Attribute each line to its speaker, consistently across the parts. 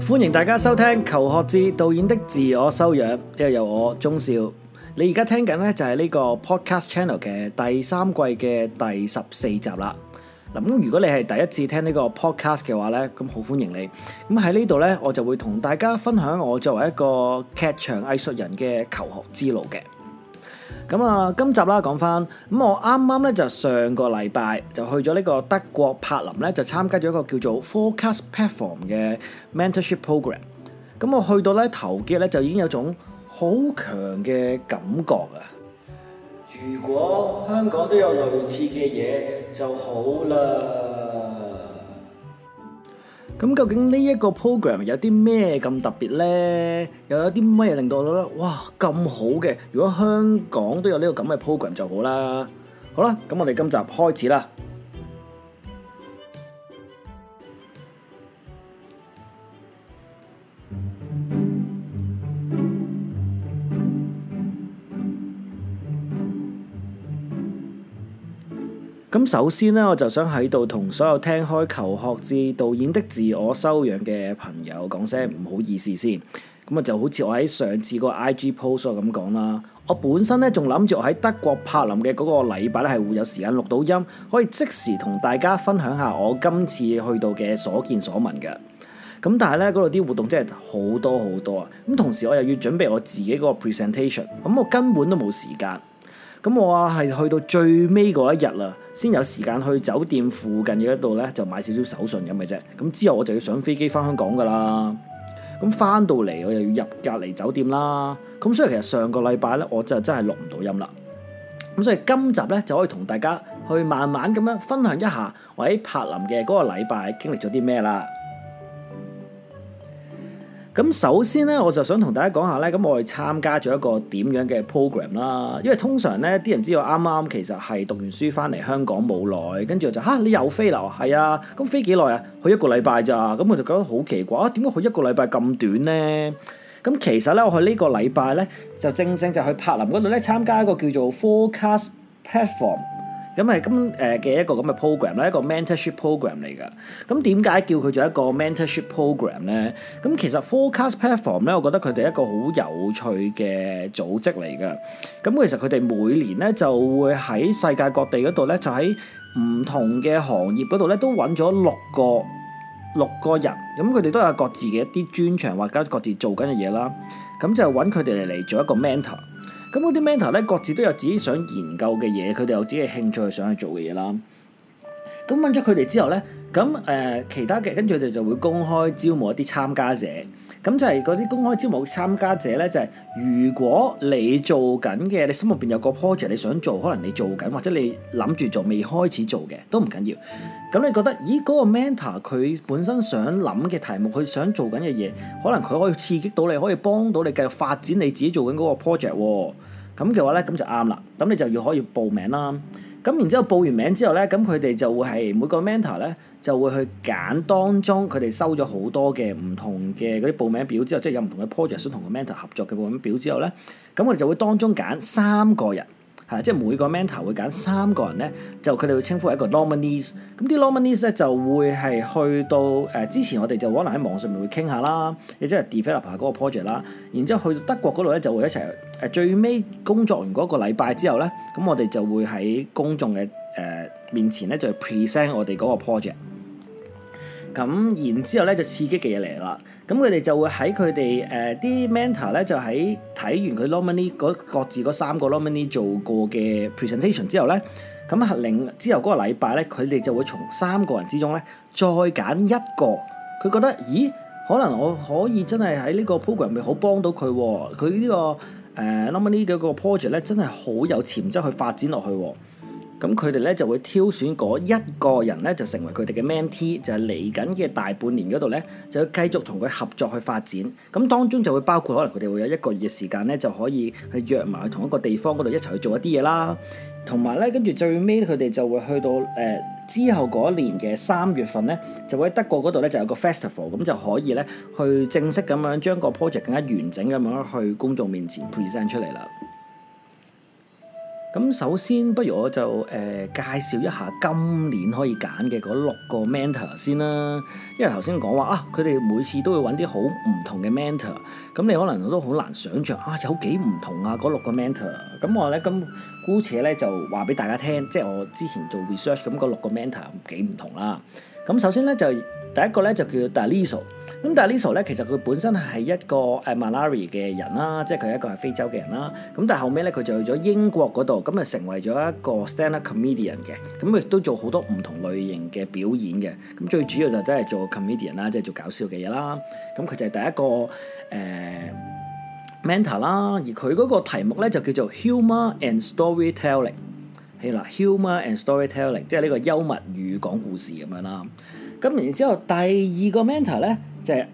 Speaker 1: 歡迎大家收聽《求學志導演的自我修養》，呢個由我鍾少。你而家聽緊咧就係呢個 Podcast Channel 嘅第三季嘅第14集啦。嗱，咁如果你係第一次聽呢個 Podcast 嘅話咧，咁好歡迎你。咁喺呢度咧，我就會同大家分享我作為一個劇場藝術人嘅求學之路嘅。咁啊，今集啦講翻，咁我啱啱咧就上個禮拜就去咗呢個德國柏林咧，就參加咗一個叫做 Focus Platform 嘅 Mentorship Program。咁我去到咧頭幾日咧就已經有種好強嘅感覺啊！如果香港都有類似嘅嘢就好啦。咁究竟呢一個 program 有啲咩咁特別呢？又有啲咩令到我覺得哇咁好嘅？如果香港都有呢個咁嘅 program 就好啦。好啦，咁我哋今集開始啦。咁首先咧，我就想喺度同所有聽開求學志導演的自我修養嘅朋友講聲唔好意思先。咁啊就好似我喺上次個 IG post 咁講啦，我本身咧仲諗住我喺德國柏林嘅嗰個禮拜咧係會有時間錄到音，可以即時同大家分享下我今次去到嘅所見所聞嘅。咁但係咧嗰度啲活動真係好多好多啊！咁同時我又要準備我自己嗰個 presentation，咁我根本都冇時間。咁我係去到最尾嗰一日啦，先有時間去酒店附近嘅一度咧，就買少少手信咁嘅啫。咁之後我就要上飛機翻香港噶啦。咁翻到嚟我又要入隔離酒店啦。咁所以其實上個禮拜咧，我就真係錄唔到音啦。咁所以今集咧就可以同大家去慢慢咁樣分享一下我喺柏林嘅嗰個禮拜經歷咗啲咩啦。咁首先咧，我就想同大家講下咧，咁我哋參加咗一個點樣嘅 program 啦。因為通常咧，啲人知道啱啱其實係讀完書翻嚟香港冇耐，跟住就你又飛啦？係啊，咁飛幾耐啊？去一個禮拜咋？咁我就覺得好奇怪啊！點解去一個禮拜咁短咧？咁其實咧，我去呢個禮拜咧，就正正就去柏林嗰度咧參加一個叫做 Focus Platform。咁係嘅一個咁嘅 program 啦，一個 mentorship program 嚟㗎。咁點解叫佢做一個 mentorship program 咧？咁其實 Focus Platform 咧，我覺得佢哋係一個好有趣嘅組織嚟㗎。咁其實佢哋每年咧就會喺世界各地嗰度咧，就喺唔同嘅行業嗰度咧，都揾咗六個人。咁佢哋都有各自嘅一啲專長或者各自做緊嘅嘢啦。咁就揾佢哋嚟做一個 mentor。咁嗰啲 mentor 咧，各自都有自己想研究嘅嘢，佢哋有自己嘅興趣想去做嘅嘢啦。咁揾咗佢哋之後咧，咁其他嘅跟住佢哋就會公開招募一啲參加者。咁就係嗰啲公開招募參加者咧，就係如果你做緊嘅，你心入邊有個 project 你想做，可能你做緊或者你諗住做未開始做嘅都唔緊要。咁你覺得，嗰個 mentor 佢本身想諗嘅題目，佢想做緊嘅嘢，可能佢可以刺激到你，可以幫到你繼續發展你自己做緊嗰個 project 喎。咁嘅話咧，咁就啱啦。咁你就要可以報名啦。咁然之後報完名之後咧，咁佢哋就會係每個 mentor 咧就會去揀當中佢哋收咗好多嘅唔同嘅嗰啲報名表之後，即係有唔同嘅 project 想同個 mentor 合作嘅報名表之後咧，咁我哋就會當中揀3個人。即係每個 mentor 會揀3個人咧，就佢哋會稱呼為一個 nominees。咁啲 nominees 咧就會係去到之前我哋就可能喺網上面會傾下啦，亦即係 develop 下嗰個 project 啦。然之後去到德國嗰度咧就會一齊最尾工作完嗰個禮拜之後咧，咁我哋就會喺公眾嘅面前咧就 present 我哋嗰個 project。咁然之後咧就刺激嘅嘢嚟啦，咁佢哋就會喺佢哋啲 mentor 咧就喺睇完佢 nominee 各自嗰3個 nominee 做過嘅 presentation 之後咧，咁之後嗰個禮拜咧，佢哋就會從3個人之中咧再揀一個，佢覺得可能我可以真係喺呢個 program 咪好幫到佢喎，佢呢個nominee 嘅個 project 咧真係好有潛質去發展落去喎。咁佢哋咧就會挑選嗰一個人咧，就成為佢哋嘅 mentee，就係嚟緊嘅大半年嗰度咧，就要繼續同佢合作去發展。咁當中就會包括可能佢哋會有1個月嘅時間咧，就可以去約埋去同一個地方嗰度一齊去做一啲嘢啦。同埋咧，跟住最尾佢哋就會去到之後嗰一年嘅3月份咧，就會喺德國嗰度咧就有個 festival，咁就可以咧去正式咁樣將個 project 更加完整咁樣去公眾面前 present 出嚟啦。 咁首先，不如我就介紹一下今年可以揀嘅嗰6個 mentor 先啦。因為頭先講話啊，佢哋每次都會揾啲好唔同嘅 mentor，咁你可能都好難想像啊，有幾唔同啊嗰6個 mentor。咁我咧姑且咧就話俾大家聽，即係我之前做 research 咁嗰6個 mentor 幾唔同啦。咁首先咧就第一個咧就叫 Daliso。咁但係Daliso咧，其實佢本身係一個Malawi 嘅人啦，即係佢係一個係非洲嘅人啦。咁但係後尾咧，佢就去咗英國嗰度，咁啊成為咗一個 stand-up comedian 嘅。咁亦都做好多唔同類型嘅表演嘅。咁最主要就都係做 comedian 啦，即係做搞笑嘅嘢啦。咁佢就係第一個mentor 啦。而佢嗰個題目咧就叫做 Humour and Storytelling。係啦，Humour and Storytelling，即係呢個幽默與講故事咁樣啦。咁然之後第二個 mentor 咧就係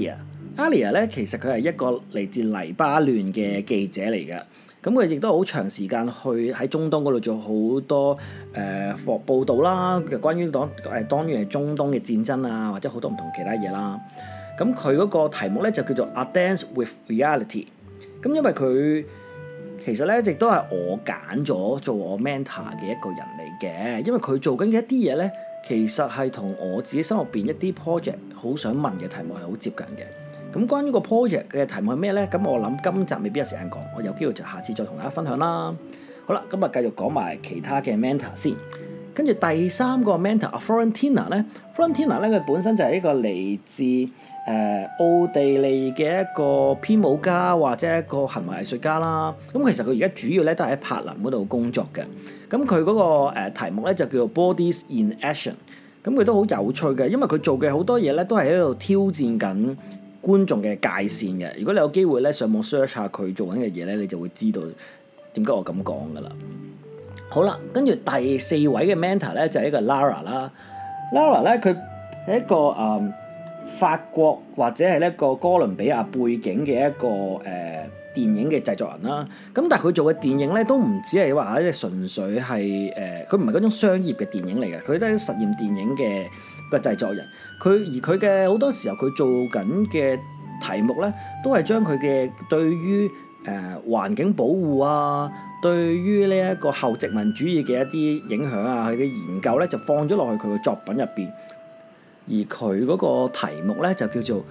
Speaker 1: Alia 咧，其實佢係一個嚟自黎巴嫩嘅記者嚟嘅。咁佢亦都好長時間去喺中東嗰度做好多報導啦，關於當於係中東嘅戰爭啊，或者好多唔同其他嘢啦。咁佢嗰個題目咧就叫做 A Dance with Reality。咁因為佢其實咧亦都係我揀咗做我 mentor 嘅一個人嚟嘅，因為佢做緊嘅一啲嘢咧，其實係同我自己心入邊一啲 project 好想問嘅題目係好接近嘅。咁關於個 project 嘅題目係咩咧？咁我諗今集未必有時間講，我有機會就下次再同大家分享啦。好啦，咁啊繼續講埋其他嘅 mentor 先。跟住第三個 mentor Florentina 咧，Florentina 咧佢本身就係一個嚟自奧地利嘅一個編舞家或者一個行為藝術家啦。咁其實佢而家主要咧都係喺柏林嗰度工作嘅。咁佢嗰個題目咧就叫做 Bodies in Action。咁佢都好有趣嘅，因為佢做嘅好多嘢咧都係喺度挑戰緊觀眾嘅界線嘅。如果你有機會咧上網 search 下佢做緊嘅嘢咧，你就會知道點解我咁講噶啦。好啦，跟住第四位嘅 mentor 咧就係一個 Lara 啦。Lara 咧佢係一個法國或者係一個哥倫比亞背景嘅一個電影嘅製作人啦。咁但係佢做嘅電影咧都唔止係話即係純粹係佢唔係嗰種商業嘅電影嚟嘅，佢都係實驗電影嘅個製作人。佢嘅好多時候佢做緊嘅題目咧，都係將佢嘅對於環境保護啊，對於呢一個後殖民主義嘅一啲影響啊，佢嘅研究咧就放咗落去佢嘅作品入邊。而佢嗰個題目咧就叫做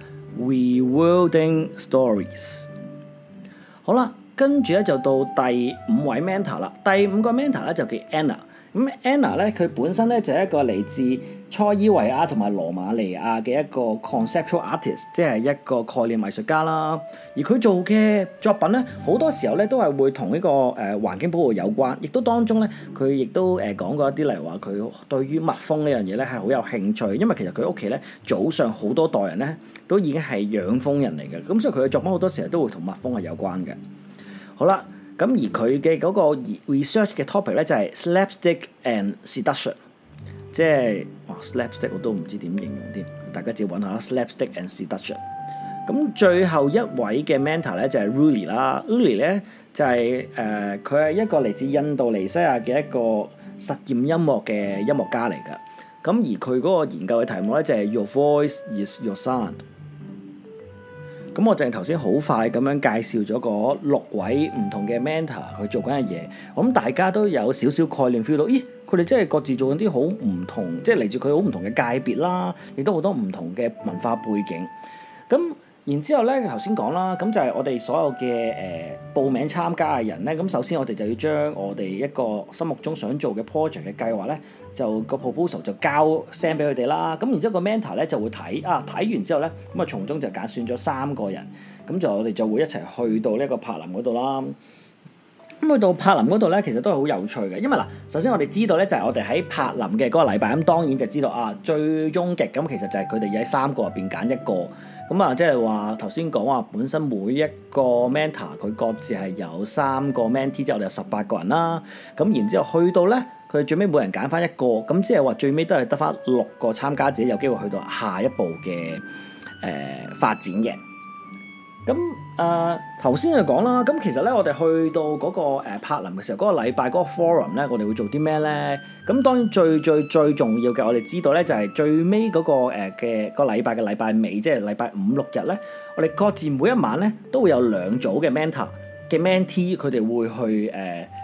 Speaker 1: Rewilding Stories。好啦，跟住咧就到第5位 mentor 啦。第5個 mentor 咧就叫 Anna。咁 Anna 咧佢本身咧就係一個嚟自塞爾維亞同埋羅馬尼亞嘅一個 conceptual artist， 即係一個概念藝術家啦。而佢做嘅作品咧，好多時候咧都係會同呢個環境保護有關，亦都當中咧佢亦都講過一啲，例如話佢對於蜜蜂呢樣嘢咧係好有興趣，因為其實佢屋企咧早上好多代人咧都已經係養蜂人嚟嘅，咁所以佢嘅作品好多時候都會同蜜蜂係有關嘅。好啦。咁而佢嘅嗰個 research 嘅 topic 咧就係 slapstick and seduction， 即係slapstick 我都唔知點形容添，大家自己揾下 slapstick and seduction。咁最後一位嘅 mentor 咧就係 Ruli 啦。Ruli 咧就係佢係一個嚟自印度尼西亞嘅一個實驗音樂嘅音樂家嚟㗎。咁而佢嗰個研究嘅題目咧就係 Your Voice is Your Sound。咁我淨係頭先好快咁樣介紹咗嗰6位唔同嘅 mentor 去做緊嘅嘢，我諗大家都有少少概念 feel 到，咦，佢哋真係各自做緊啲好唔同，即係嚟自佢好唔同嘅界別啦，亦都好多唔同嘅文化背景。咁然之後咧，頭先講啦，咁就係我哋所有嘅報名參加嘅人咧，咁首先我哋就要將我哋一個心目中想做嘅 project 嘅計劃咧，就個 proposal 就send 俾佢哋啦。咁然之後個 mentor 咧就會睇完之後咧，咁啊從中就揀選咗3個人，咁我哋就會一齊去到呢個柏林嗰度啦。咁去到柏林嗰度咧，其實都係好有趣嘅，因為嗱，首先我哋知道咧就係我哋喺柏林嘅嗰個禮拜，咁當然就知道最終極咁其實就係佢哋要喺3個入邊揀1個。咁即係話頭先講話本身每一個 mentor 佢各自係有3個 mentee，即係我哋有18個人啦。咁然之後去到咧，佢最尾每人揀翻1個，咁即係話最尾都係得翻6個參加者有機會去到下一步嘅發展嘅。咁頭先就講啦，咁其實咧我哋去到嗰個柏林嘅時候，嗰個禮拜嗰個 forum 咧，我哋會做啲咩咧？咁當然最重要嘅，我哋知道咧就係最尾嗰個嘅個禮拜嘅禮拜尾，即係禮拜5、6日咧，我哋各自每一晚咧都會有2組嘅 mentor 嘅 mentee，佢哋會去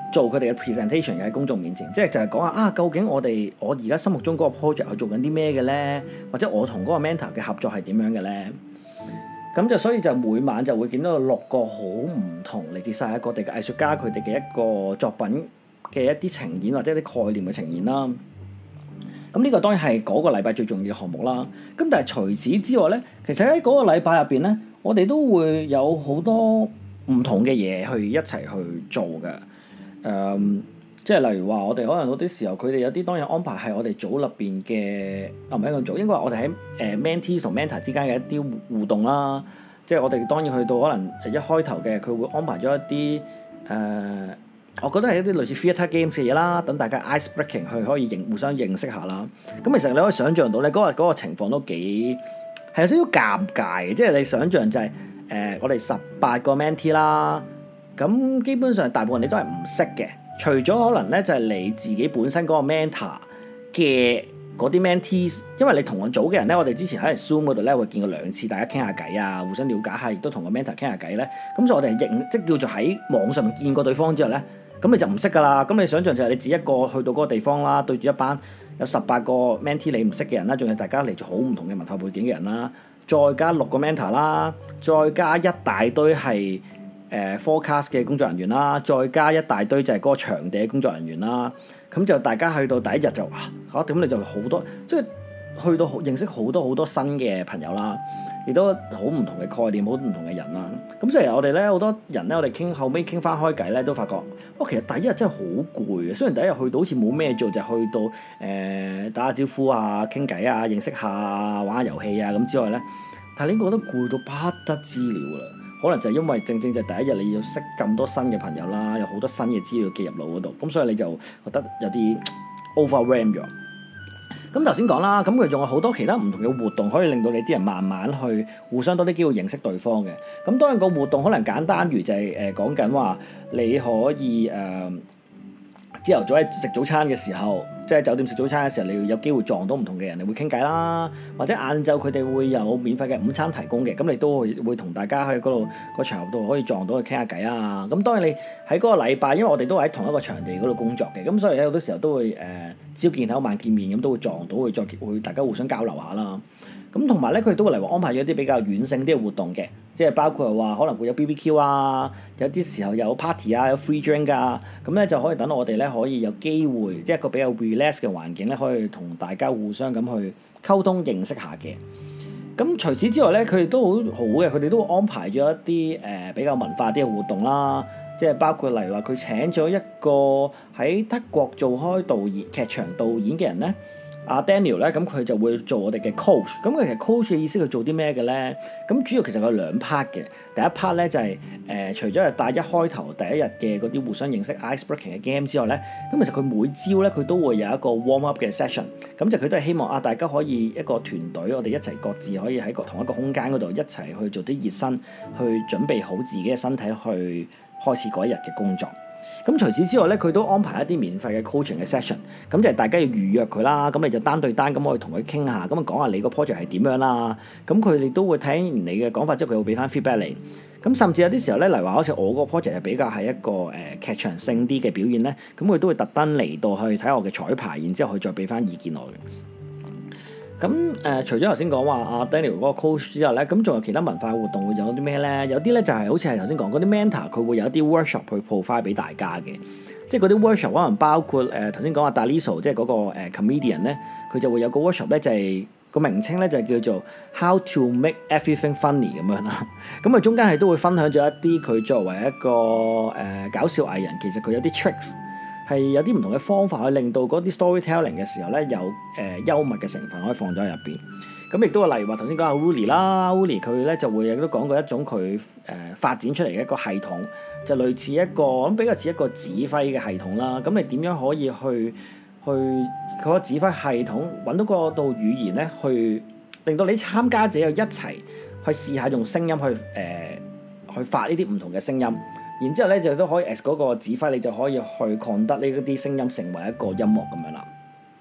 Speaker 1: 做佢哋嘅 presentation 嘅喺公眾面前，即係就係講下究竟我而家心目中嗰個 project 係做緊啲咩嘅咧，或者我同嗰個 mentor 嘅合作係點樣嘅咧？咁就所以就每晚就會見到6個好唔同嚟自世界各地嘅藝術家佢哋嘅一個作品嘅一啲呈現或者一啲概念嘅呈現啦。咁呢個當然係嗰個禮拜最重要嘅項目啦。咁但係除此之外咧，其實喺嗰個禮拜入邊咧，我哋都會有好多唔同嘅嘢去一齊去做嘅。即係例如話，我哋可能嗰啲時候，佢哋有啲當然安排係我哋組入邊嘅，唔係一個組，應該話我哋喺mentee 同 mentor 之間嘅一啲互動啦。即係我哋當然去到可能一開頭嘅，佢會安排咗一啲我覺得係一啲類似 theatre games 嘅嘢啦，等大家 ice breaking 去可以互相認識下啦。咁其實你可以想像到咧，嗰個情況都幾係有少少尷尬嘅，即係你想像就係我哋18個 mentee 啦，咁基本上大部分你都係唔識嘅。除咗可能咧，就係你自己本身嗰個 mentor 嘅嗰啲 mentees， 因為你同我組嘅人咧，我哋之前喺 Zoom 嗰度咧會見過2次，大家傾下偈啊，互相了解下，亦都同個 mentor 傾下偈咧。咁所以我哋即叫做喺網上面見過對方之後咧，咁你就唔識噶啦。咁你想象就係你自己一個去到嗰個地方啦，對住一班有18個 mentee 你唔識嘅人啦，仲有大家嚟自好唔同嘅文化背景嘅人啦，再加6個 mentor 啦，再加一大堆係forecast 嘅工作人員啦，再加一大堆就係嗰個場地嘅工作人員啦，咁就大家去到第一日就點你就好多，即係去到認識好多新嘅朋友啦，亦都好唔同嘅概念，好唔同嘅人啦。咁所以我哋咧好多人咧，我哋後尾傾翻開偈咧，都發覺其實第一日真係好攰嘅。雖然第一日去到好似冇咩做，就去到打下招呼啊、傾偈啊、認識下玩下遊戲啊咁之外咧，但係你覺得攰到不得之了啦。可能就係因為正正就係第一日你要識咁多新嘅朋友啦，有好多新嘅資料記入腦嗰度，咁所以你就覺得有啲 overwhelm 咗。咁頭先講啦，咁佢仲有好多其他唔同嘅活動可以令到你啲人慢慢去互相多啲機會認識對方嘅。咁當然個活動可能簡單如就係講緊話你可以朝頭早喺食早餐嘅時候，即係酒店食早餐嘅時候，你要有機會撞到唔同嘅人，你會傾偈啦。或者晏晝佢哋會有免費嘅午餐提供嘅，咁你都會同大家喺嗰度個場合度可以撞到去傾下偈啊。咁當然你喺嗰個禮拜，因為我哋都喺同一個場地嗰度工作嘅，咁所以有好多時候都會朝見口晚見面，咁都會撞到，會大家互相交流下啦。咁同埋咧，佢哋都會嚟話安排咗啲比較軟性啲嘅活動嘅，即係包括話可能會有 BBQ 啊，有啲時候有 party 啊，有 free drink 啊，咁咧就可以等我哋咧可以有機會，即係一個比較 relax 嘅環境咧，可以同大家互相咁去溝通認識下嘅。咁除此之外咧，佢哋都好好嘅，佢哋都會安排咗一啲比較文化啲嘅活動啦，即係包括例如話佢請咗一個喺德國做開劇場導演嘅人咧。阿 Daniel 咧，咁佢就會做我哋嘅 coach。咁佢其實 coach 嘅意思佢做啲咩嘅咧？咁主要其實有2 part 嘅。第一 part 咧就係除咗係帶一開頭第一日嘅嗰啲互相認識 ice breaking 嘅 game 之外咧，咁其實佢每朝咧佢都會有一個 warm up 嘅 session。咁就佢都係希望大家可以一個團隊，我哋一齊各自可以喺同一個空間嗰度一齊去做啲熱身，去準備好自己嘅身體去開始嗰一日嘅工作。咁除此之外咧，佢都安排一啲免費嘅 coaching 嘅 session，咁就係大家要預約佢啦，咁你就單對單咁可以同佢傾下，咁講下你個 project 係點樣啦。咁佢哋都會睇完你嘅講法之後，佢會俾翻 feedback 你。咁甚至有啲時候咧，例如話好似我個 project 係比較係一個劇場性啲嘅表現咧，咁佢都會特登嚟到去睇我嘅彩排，然之後佢再俾翻意見我嘅。咁除咗頭先講話阿 Daniel 嗰個 coach 之後咧，咁仲有其他文化活動會有啲咩咧？有啲咧就係好似係頭先講嗰啲 mentor，佢會有一啲 workshop 去 provide 俾大家嘅。即係嗰啲 workshop 可能包括頭先講阿 Daliso， 即係嗰個comedian 咧，佢就會有個 workshop 咧，就係個名稱咧就叫做 How to make everything funny 咁樣啦。咁啊中間係都會分享咗一啲佢作為一個搞笑藝人，其實佢有啲 tricks。係有啲唔同嘅方法去令到嗰啲 storytelling 嘅時候咧有幽默嘅成分可以放咗喺入邊。咁亦都係例如話頭先講阿 Wooly 啦 ，Wooly 佢咧就會亦都講過一種佢發展出嚟嘅一個系統，就類似一個咁比較似一個指揮嘅系統啦。咁你點樣可以去佢個指揮系統揾到嗰度語言咧，去令到你參加者又一齊去試下用聲音去發呢啲唔同嘅聲音。然之後咧就都可以 as 嗰個指揮，你就可以去擴得呢啲聲音成為一個音樂咁樣啦。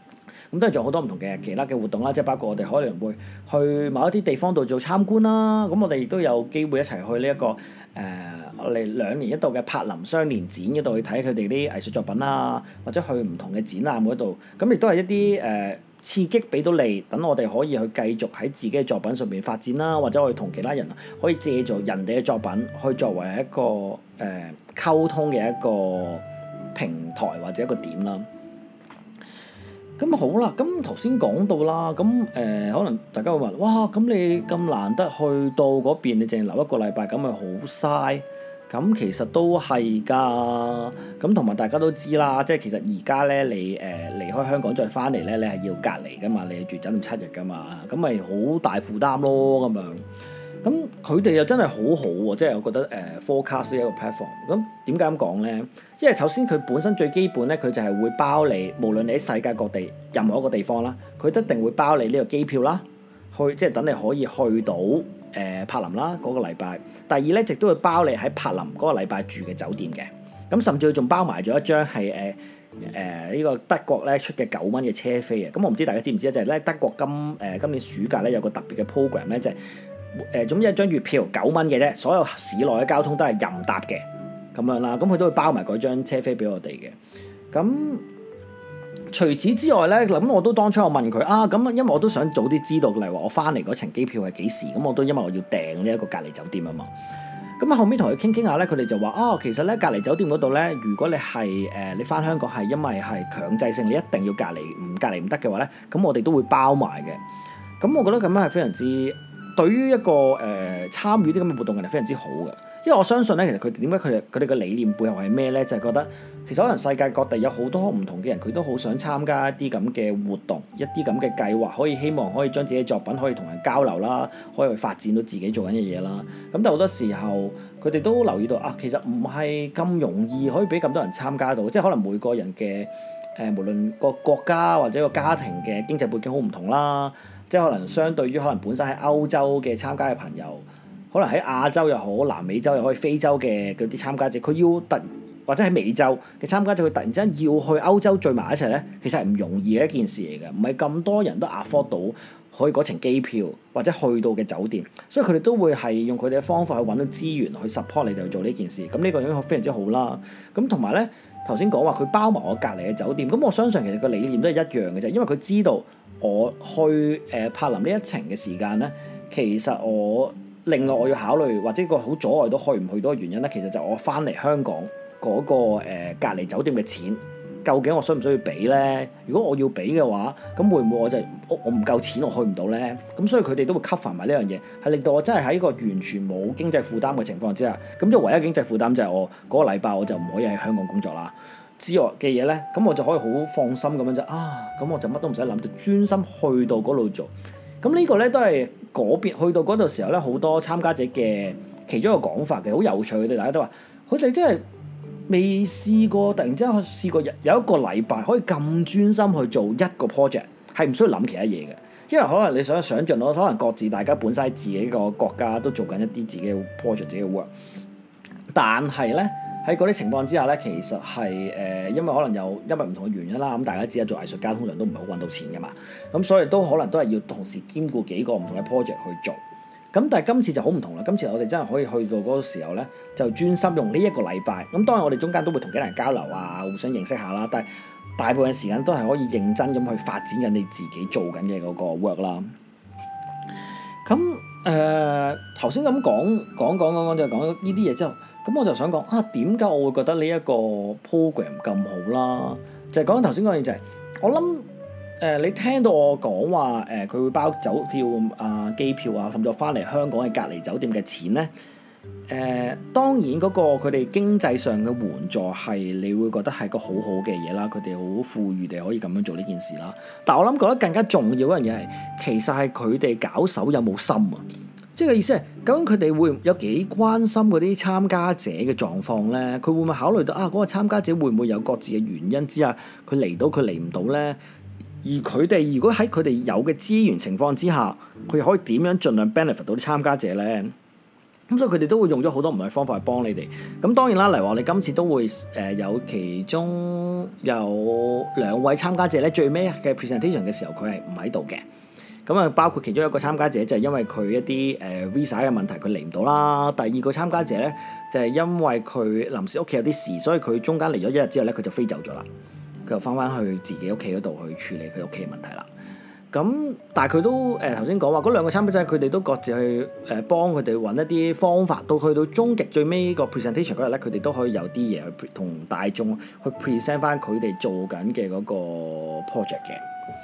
Speaker 1: 咁當然仲有好多唔同嘅其他嘅活動啦，即係包括我哋可能會去某一啲地方度做參觀啦。咁我哋亦都有機會一齊去呢一個我哋2年一度嘅柏林雙年展嗰度去睇佢哋啲藝術作品啊，或者去唔同嘅展覽嗰度，咁亦都係一啲刺激俾到你，等我哋可以去繼續喺自己嘅作品上面發展啦，或者我哋同其他人可以借助人哋嘅作品去作為一個溝通嘅一個平台或者一個點啦。咁好啦，咁頭先講到啦，咁可能大家會問，哇，咁你咁難得去到嗰邊，你淨係留一個禮拜，咁咪好嘥？咁其實都係㗎，咁同埋大家都知啦，即係其實而家咧你離開香港再翻嚟咧，你係要隔離㗎嘛，你係住酒店7日㗎嘛，咁咪好大負擔咯咁樣。咁佢哋又真係好好喎，即係我覺得Forecast 呢一個 platform。咁點解咁講咧？因為首先佢本身最基本咧，佢就係會包你，無論你喺世界各地任何一個地方啦，佢一定會包你呢個機票啦，即係等你可以去到柏林啦嗰個禮拜。第二咧，亦都會包你喺柏林嗰個禮拜住嘅酒店嘅。咁甚至佢仲包埋咗一張係呢個德國咧出嘅9蚊嘅車飛啊。咁我唔知大家知唔知咧，就係咧德國今年暑假咧有個特別嘅 program 咧，就係總之一張月票9蚊嘅啫，所有市內嘅交通都係任搭嘅咁樣啦。咁佢都會包埋嗰張車飛俾我哋嘅。咁除此之外咧，咁我都當初我問佢啊，咁因為我都想早啲知道，例如話我翻嚟嗰程機票係幾時，咁我都因為我要訂呢一個隔離酒店啊嘛。咁後尾同佢傾下咧，佢哋就話其實咧隔離酒店嗰度咧，如果你係你翻香港係因為係強制性，你一定要隔離，唔隔離唔得嘅話咧，咁我哋都會包埋嘅。咁我覺得咁樣係非常之對於一個參與啲咁嘅活動嘅人非常之好嘅。因為我相信咧，其實佢點解佢哋嘅理念背後係咩咧？就係覺得其實可能世界各地有好多唔同嘅人，佢都好想參加一啲咁嘅活動，一啲咁嘅計劃，希望可以將自己嘅作品可以同人交流啦，可以去發展到自己做緊嘅嘢啦。咁但係好多時候，佢哋都留意到其實唔係咁容易可以俾咁多人參加到，即係可能每個人嘅無論個國家或者個家庭嘅經濟背景好唔同啦，即係可能相對於可能本身喺歐洲嘅參加嘅朋友。可能喺亞洲又好，南美洲又好，非洲嘅嗰啲參加者，佢要或者喺美洲嘅參加者，佢突然之間要去歐洲聚埋一齊咧，其實係唔容易嘅一件事嚟嘅，唔係咁多人都 afford 到可以嗰程機票或者去到嘅酒店，所以佢哋都會係用佢哋嘅方法去揾到資源去 support 你哋去做呢件事。咁呢個已經非常之好啦。咁同埋咧，頭先講話佢包埋我隔離嘅酒店，咁我相信其實個理念都係一樣嘅啫，因為佢知道我去柏林呢一程嘅時間咧，其實另外我要考慮或者個好阻礙到去唔去到嘅原因咧，其實就我翻嚟香港嗰個隔離酒店嘅錢，究竟我需唔需要俾咧？如果我要俾嘅話，咁會唔會我唔夠錢我去唔到咧？咁所以佢哋都會 cover 埋呢樣嘢，係令到我真係喺一個完全冇經濟負擔嘅情況之下，咁即係唯一經濟負擔就係我嗰個禮拜我就唔可以喺香港工作啦。之外嘅嘢咧，咁我就可以好放心咁樣咁我就乜都唔使諗，就專心去到嗰度做。咁呢個咧都係嗰邊去到嗰度時候咧，好多參加者嘅其中一個講法嘅，好有趣。佢哋大家都話，佢哋真係未試過，突然之間試過有一個禮拜可以咁專心去做一個 project，係唔需要諗其他嘢嘅。因為可能你想像到，可能各自大家本身喺自己個國家都做緊一啲自己嘅 project、自己嘅 work，但係咧。喺嗰啲情況之下咧，其實係因為可能因為唔同嘅原因啦，咁大家知啦，做藝術家通常都唔係好揾到錢噶嘛，咁所以都可能都係要同時兼顧幾個唔同嘅 project 去做。咁但係今次就好唔同啦，今次我哋真係可以去到嗰個時候咧，就專心用呢一個禮拜。咁當然我哋中間都會同幾人交流啊，互相認識下啦，但係大部分時間都係可以認真咁去發展緊你自己做緊嘅嗰個 work 啦。咁頭先咁講就講呢啲嘢之後。咁我就想講點解我會覺得呢一個 program 咁好啦？就係講緊頭先嗰樣就係，我諗你聽到我講話佢會包酒票機票啊，甚至我翻嚟香港嘅隔離酒店嘅錢咧，當然嗰個佢哋經濟上嘅援助係你會覺得係個好好嘅嘢啦，佢哋好富裕地可以咁樣做呢件事啦。但我諗覺得更加重要嗰樣嘢係，其實係佢哋搞手有冇心啊？即係嘅意思係，究竟佢哋會有幾關心嗰啲參加者嘅狀況咧？佢會唔會考慮到嗰個參加者會唔會有各自嘅原因之下，佢嚟到佢嚟唔到咧？而佢哋如果喺佢哋有嘅資源情況之下，佢可以點樣盡量 benefit 到啲參加者咧？ 咁所以佢哋都會用咗好多唔同嘅方法去幫你哋。咁當然啦，例如話我哋今次都會有其中有兩位參加者咧，最尾嘅 presentation 嘅時候佢係唔喺度嘅。咁啊，包括其中一個參加者就係因為佢一啲visa 嘅問題，佢嚟唔到啦。第二個參加者咧就係因為佢臨時屋企有啲事，所以佢中間嚟咗一日之後咧，佢就飛走咗啦。佢又翻去自己屋企嗰度去處理佢屋企嘅問題啦。咁但係佢都頭先講話嗰兩個參加者，佢哋都各自去幫佢哋揾一啲方法，到去到終極最尾個 presentation 嗰日咧，佢哋都可以有啲嘢去同大眾去 present 翻佢哋做緊嘅嗰個 project 嘅。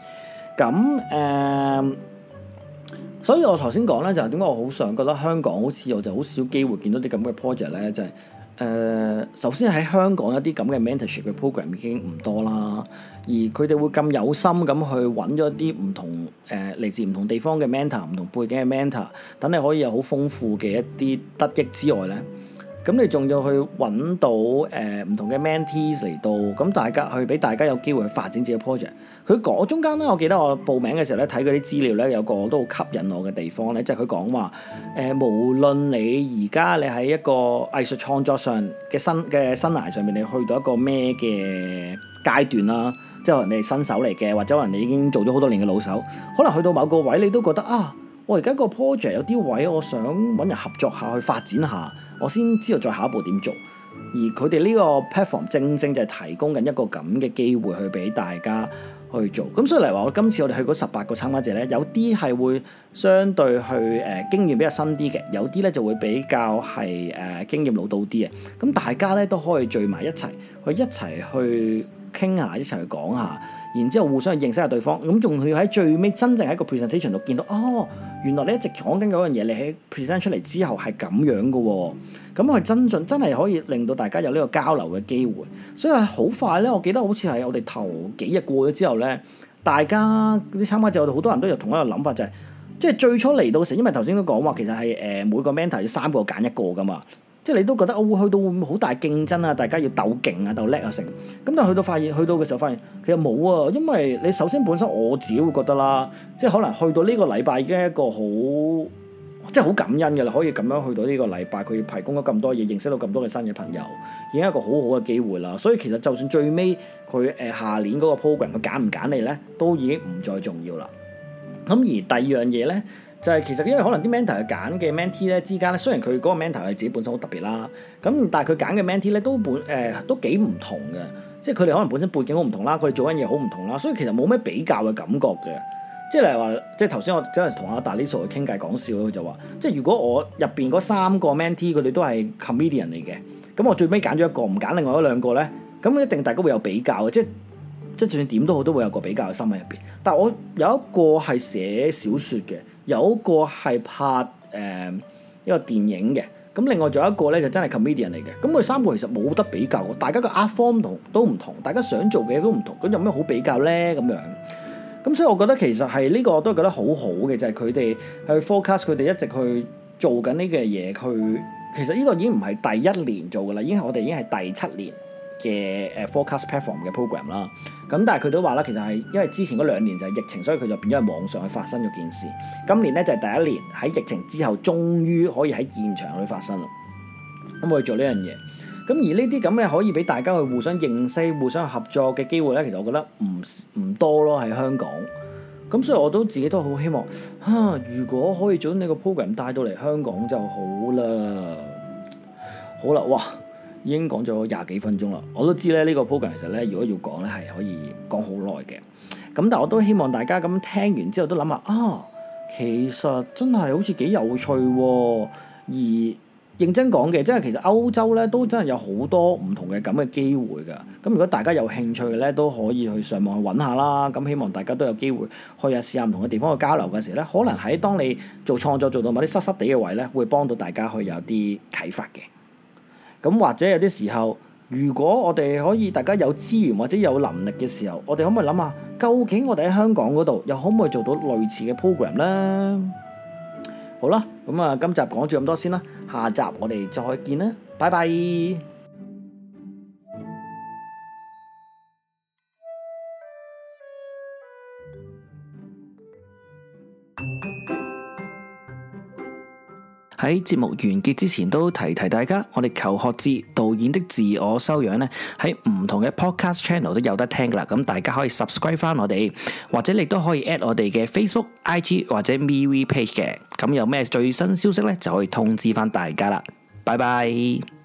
Speaker 1: 咁所以我頭先講咧，就係點解我好想覺得香港好似我就好少機會見到啲咁嘅 project 咧，就係首先喺香港一啲咁嘅 mentorship 嘅 program 已經唔多啦，而佢哋會咁有心咁去揾咗啲唔同嚟自唔同地方嘅 mentor、唔同背景嘅 mentor，等你可以有好豐富嘅一啲得益之外咧。咁你仲要去揾到唔同嘅 mentees 嚟到，咁大家去俾大家有機會去發展自己嘅 project。佢講中間咧，我記得我報名嘅時候咧，睇嗰啲資料咧，有個都好吸引我嘅地方咧，即係佢講話無論你而家你喺一個藝術創作上嘅生涯上面，你去到一個咩嘅階段啦，即係可能你係新手嚟嘅，或者可能你已經做咗好多年嘅老手，可能去到某個位你都覺得啊，我而家個 project 有啲位我想揾人合作下去發展下，我先知道再下一步點做。而佢哋呢個 platform 正正就係提供緊一個咁嘅機會去俾大家去做。咁所以嚟話，我今次我哋去嗰18個參加者咧，有啲係會相對去經驗比較新啲嘅，有啲咧就會比較係經驗老道啲嘅。咁大家咧都可以聚埋一齊去傾下，一齊去講下。然之後互相認識下對方，咁仲要喺最尾真正喺個 presentation 度見到，哦，原來你一直講緊嗰樣嘢，你喺 present 出嚟之後係咁樣嘅喎，咁我真係可以令到大家有呢個交流嘅機會。所以好快咧，我記得好似係我哋頭幾日過咗之後咧，大家啲參加者我哋好多人都有同一個諗法，就係即係最初嚟到時，因為頭先都講話其實係每個 mentor 要3個揀1個㗎嘛。即係你都覺得我會去到會唔會好大競爭啊？大家要鬥勁啊、鬥叻啊成。咁但係去到嘅時候發現其實冇啊，因為你首先本身我自己會覺得啦，即係可能去到呢個禮拜已經係一個好即係好感恩嘅啦，可以咁樣去到呢個禮拜，佢提供咗咁多嘢，認識到咁多嘅新嘅朋友，已經係一個好好嘅機會啦。所以其實就算最尾佢下年嗰個 program 佢揀唔揀你咧，都已經唔再重要啦。咁而第二樣嘢咧。就係其實因為可能啲 mentor 揀嘅 mentee 咧之間咧，雖然佢嗰個 mentor 係自己本身好特別啦，咁但係佢揀嘅 mentee 咧都幾唔同嘅，即係佢哋可能本身背景好唔同啦，佢哋做緊嘢好唔同啦，所以其實冇咩比較嘅感覺嘅。即係例如話，即係頭先我真係同阿達利索去傾偈講笑，佢就話，即係如果我入邊嗰3個 mentee 佢哋都係 comedian 嚟嘅，咁我最尾揀咗一個，唔揀另外嗰2個咧，咁一定大家會有比較嘅，即係就算點都好，都會有個比較嘅心喺入邊。但係我有一個係寫小説嘅。有一個係拍一個電影嘅，咁另外仲有一個咧就真係 comedian 嚟嘅，咁佢3個其實冇得比較，大家個 art form 都唔同，大家想做嘅嘢都唔同，咁有咩好比較咧咁樣？咁所以我覺得其實係呢個我都覺得好好嘅，就係佢哋去 forecast 佢哋一直去做緊呢個嘢，其實呢個已經唔係第1年做㗎啦，我哋已經係第7年嘅forecast platform 嘅 program 啦。咁但係佢都話啦，其實係因為之前嗰2年就係疫情，所以佢就變咗喺網上去發生咗件事。今年咧就係第1年喺疫情之後，終於可以喺現場去發生啦。咁我去做呢樣嘢。咁而呢啲咁嘅可以俾大家去互相認識、互相合作嘅機會咧，其實我覺得唔多咯喺香港。咁所以我都自己都好希望如果可以將呢個 program 帶到嚟香港就好啦。好啦，哇！已經講咗20幾分鐘啦，我都知咧呢個 program 其實咧，如果要講咧係可以講好耐嘅。咁但係我都希望大家咁聽完之後都諗下其實真係好似幾有趣喎。而認真講嘅，即係其實歐洲咧都真係有好多唔同嘅咁嘅機會㗎。咁如果大家有興趣嘅咧，都可以去上網去揾下啦。咁希望大家都有機會去試下唔同嘅地方去交流嘅時候咧，可能喺當你做創作做到某啲濕濕地嘅位咧，會幫到大家去有啲啟發嘅。咁或者有啲時候，如果我哋可以大家有資源或者有能力嘅時候，我哋可唔可以諗下，究竟我哋喺香港嗰度又可唔可以做到類似嘅 program 呢？好啦，咁今集講住咁多先啦，下集我哋再見啦，拜拜。 喺節目完結之前都提提大家，我哋求學志導演的自我修養咧，喺唔同嘅 podcast channel 都有得聽噶啦。咁大家可以 subscribe 翻我哋，或者你都可以 at 我哋嘅 Facebook、IG 或者 MeWe page 嘅。咁有咩最新消息咧，就可以通知翻大家啦。拜拜。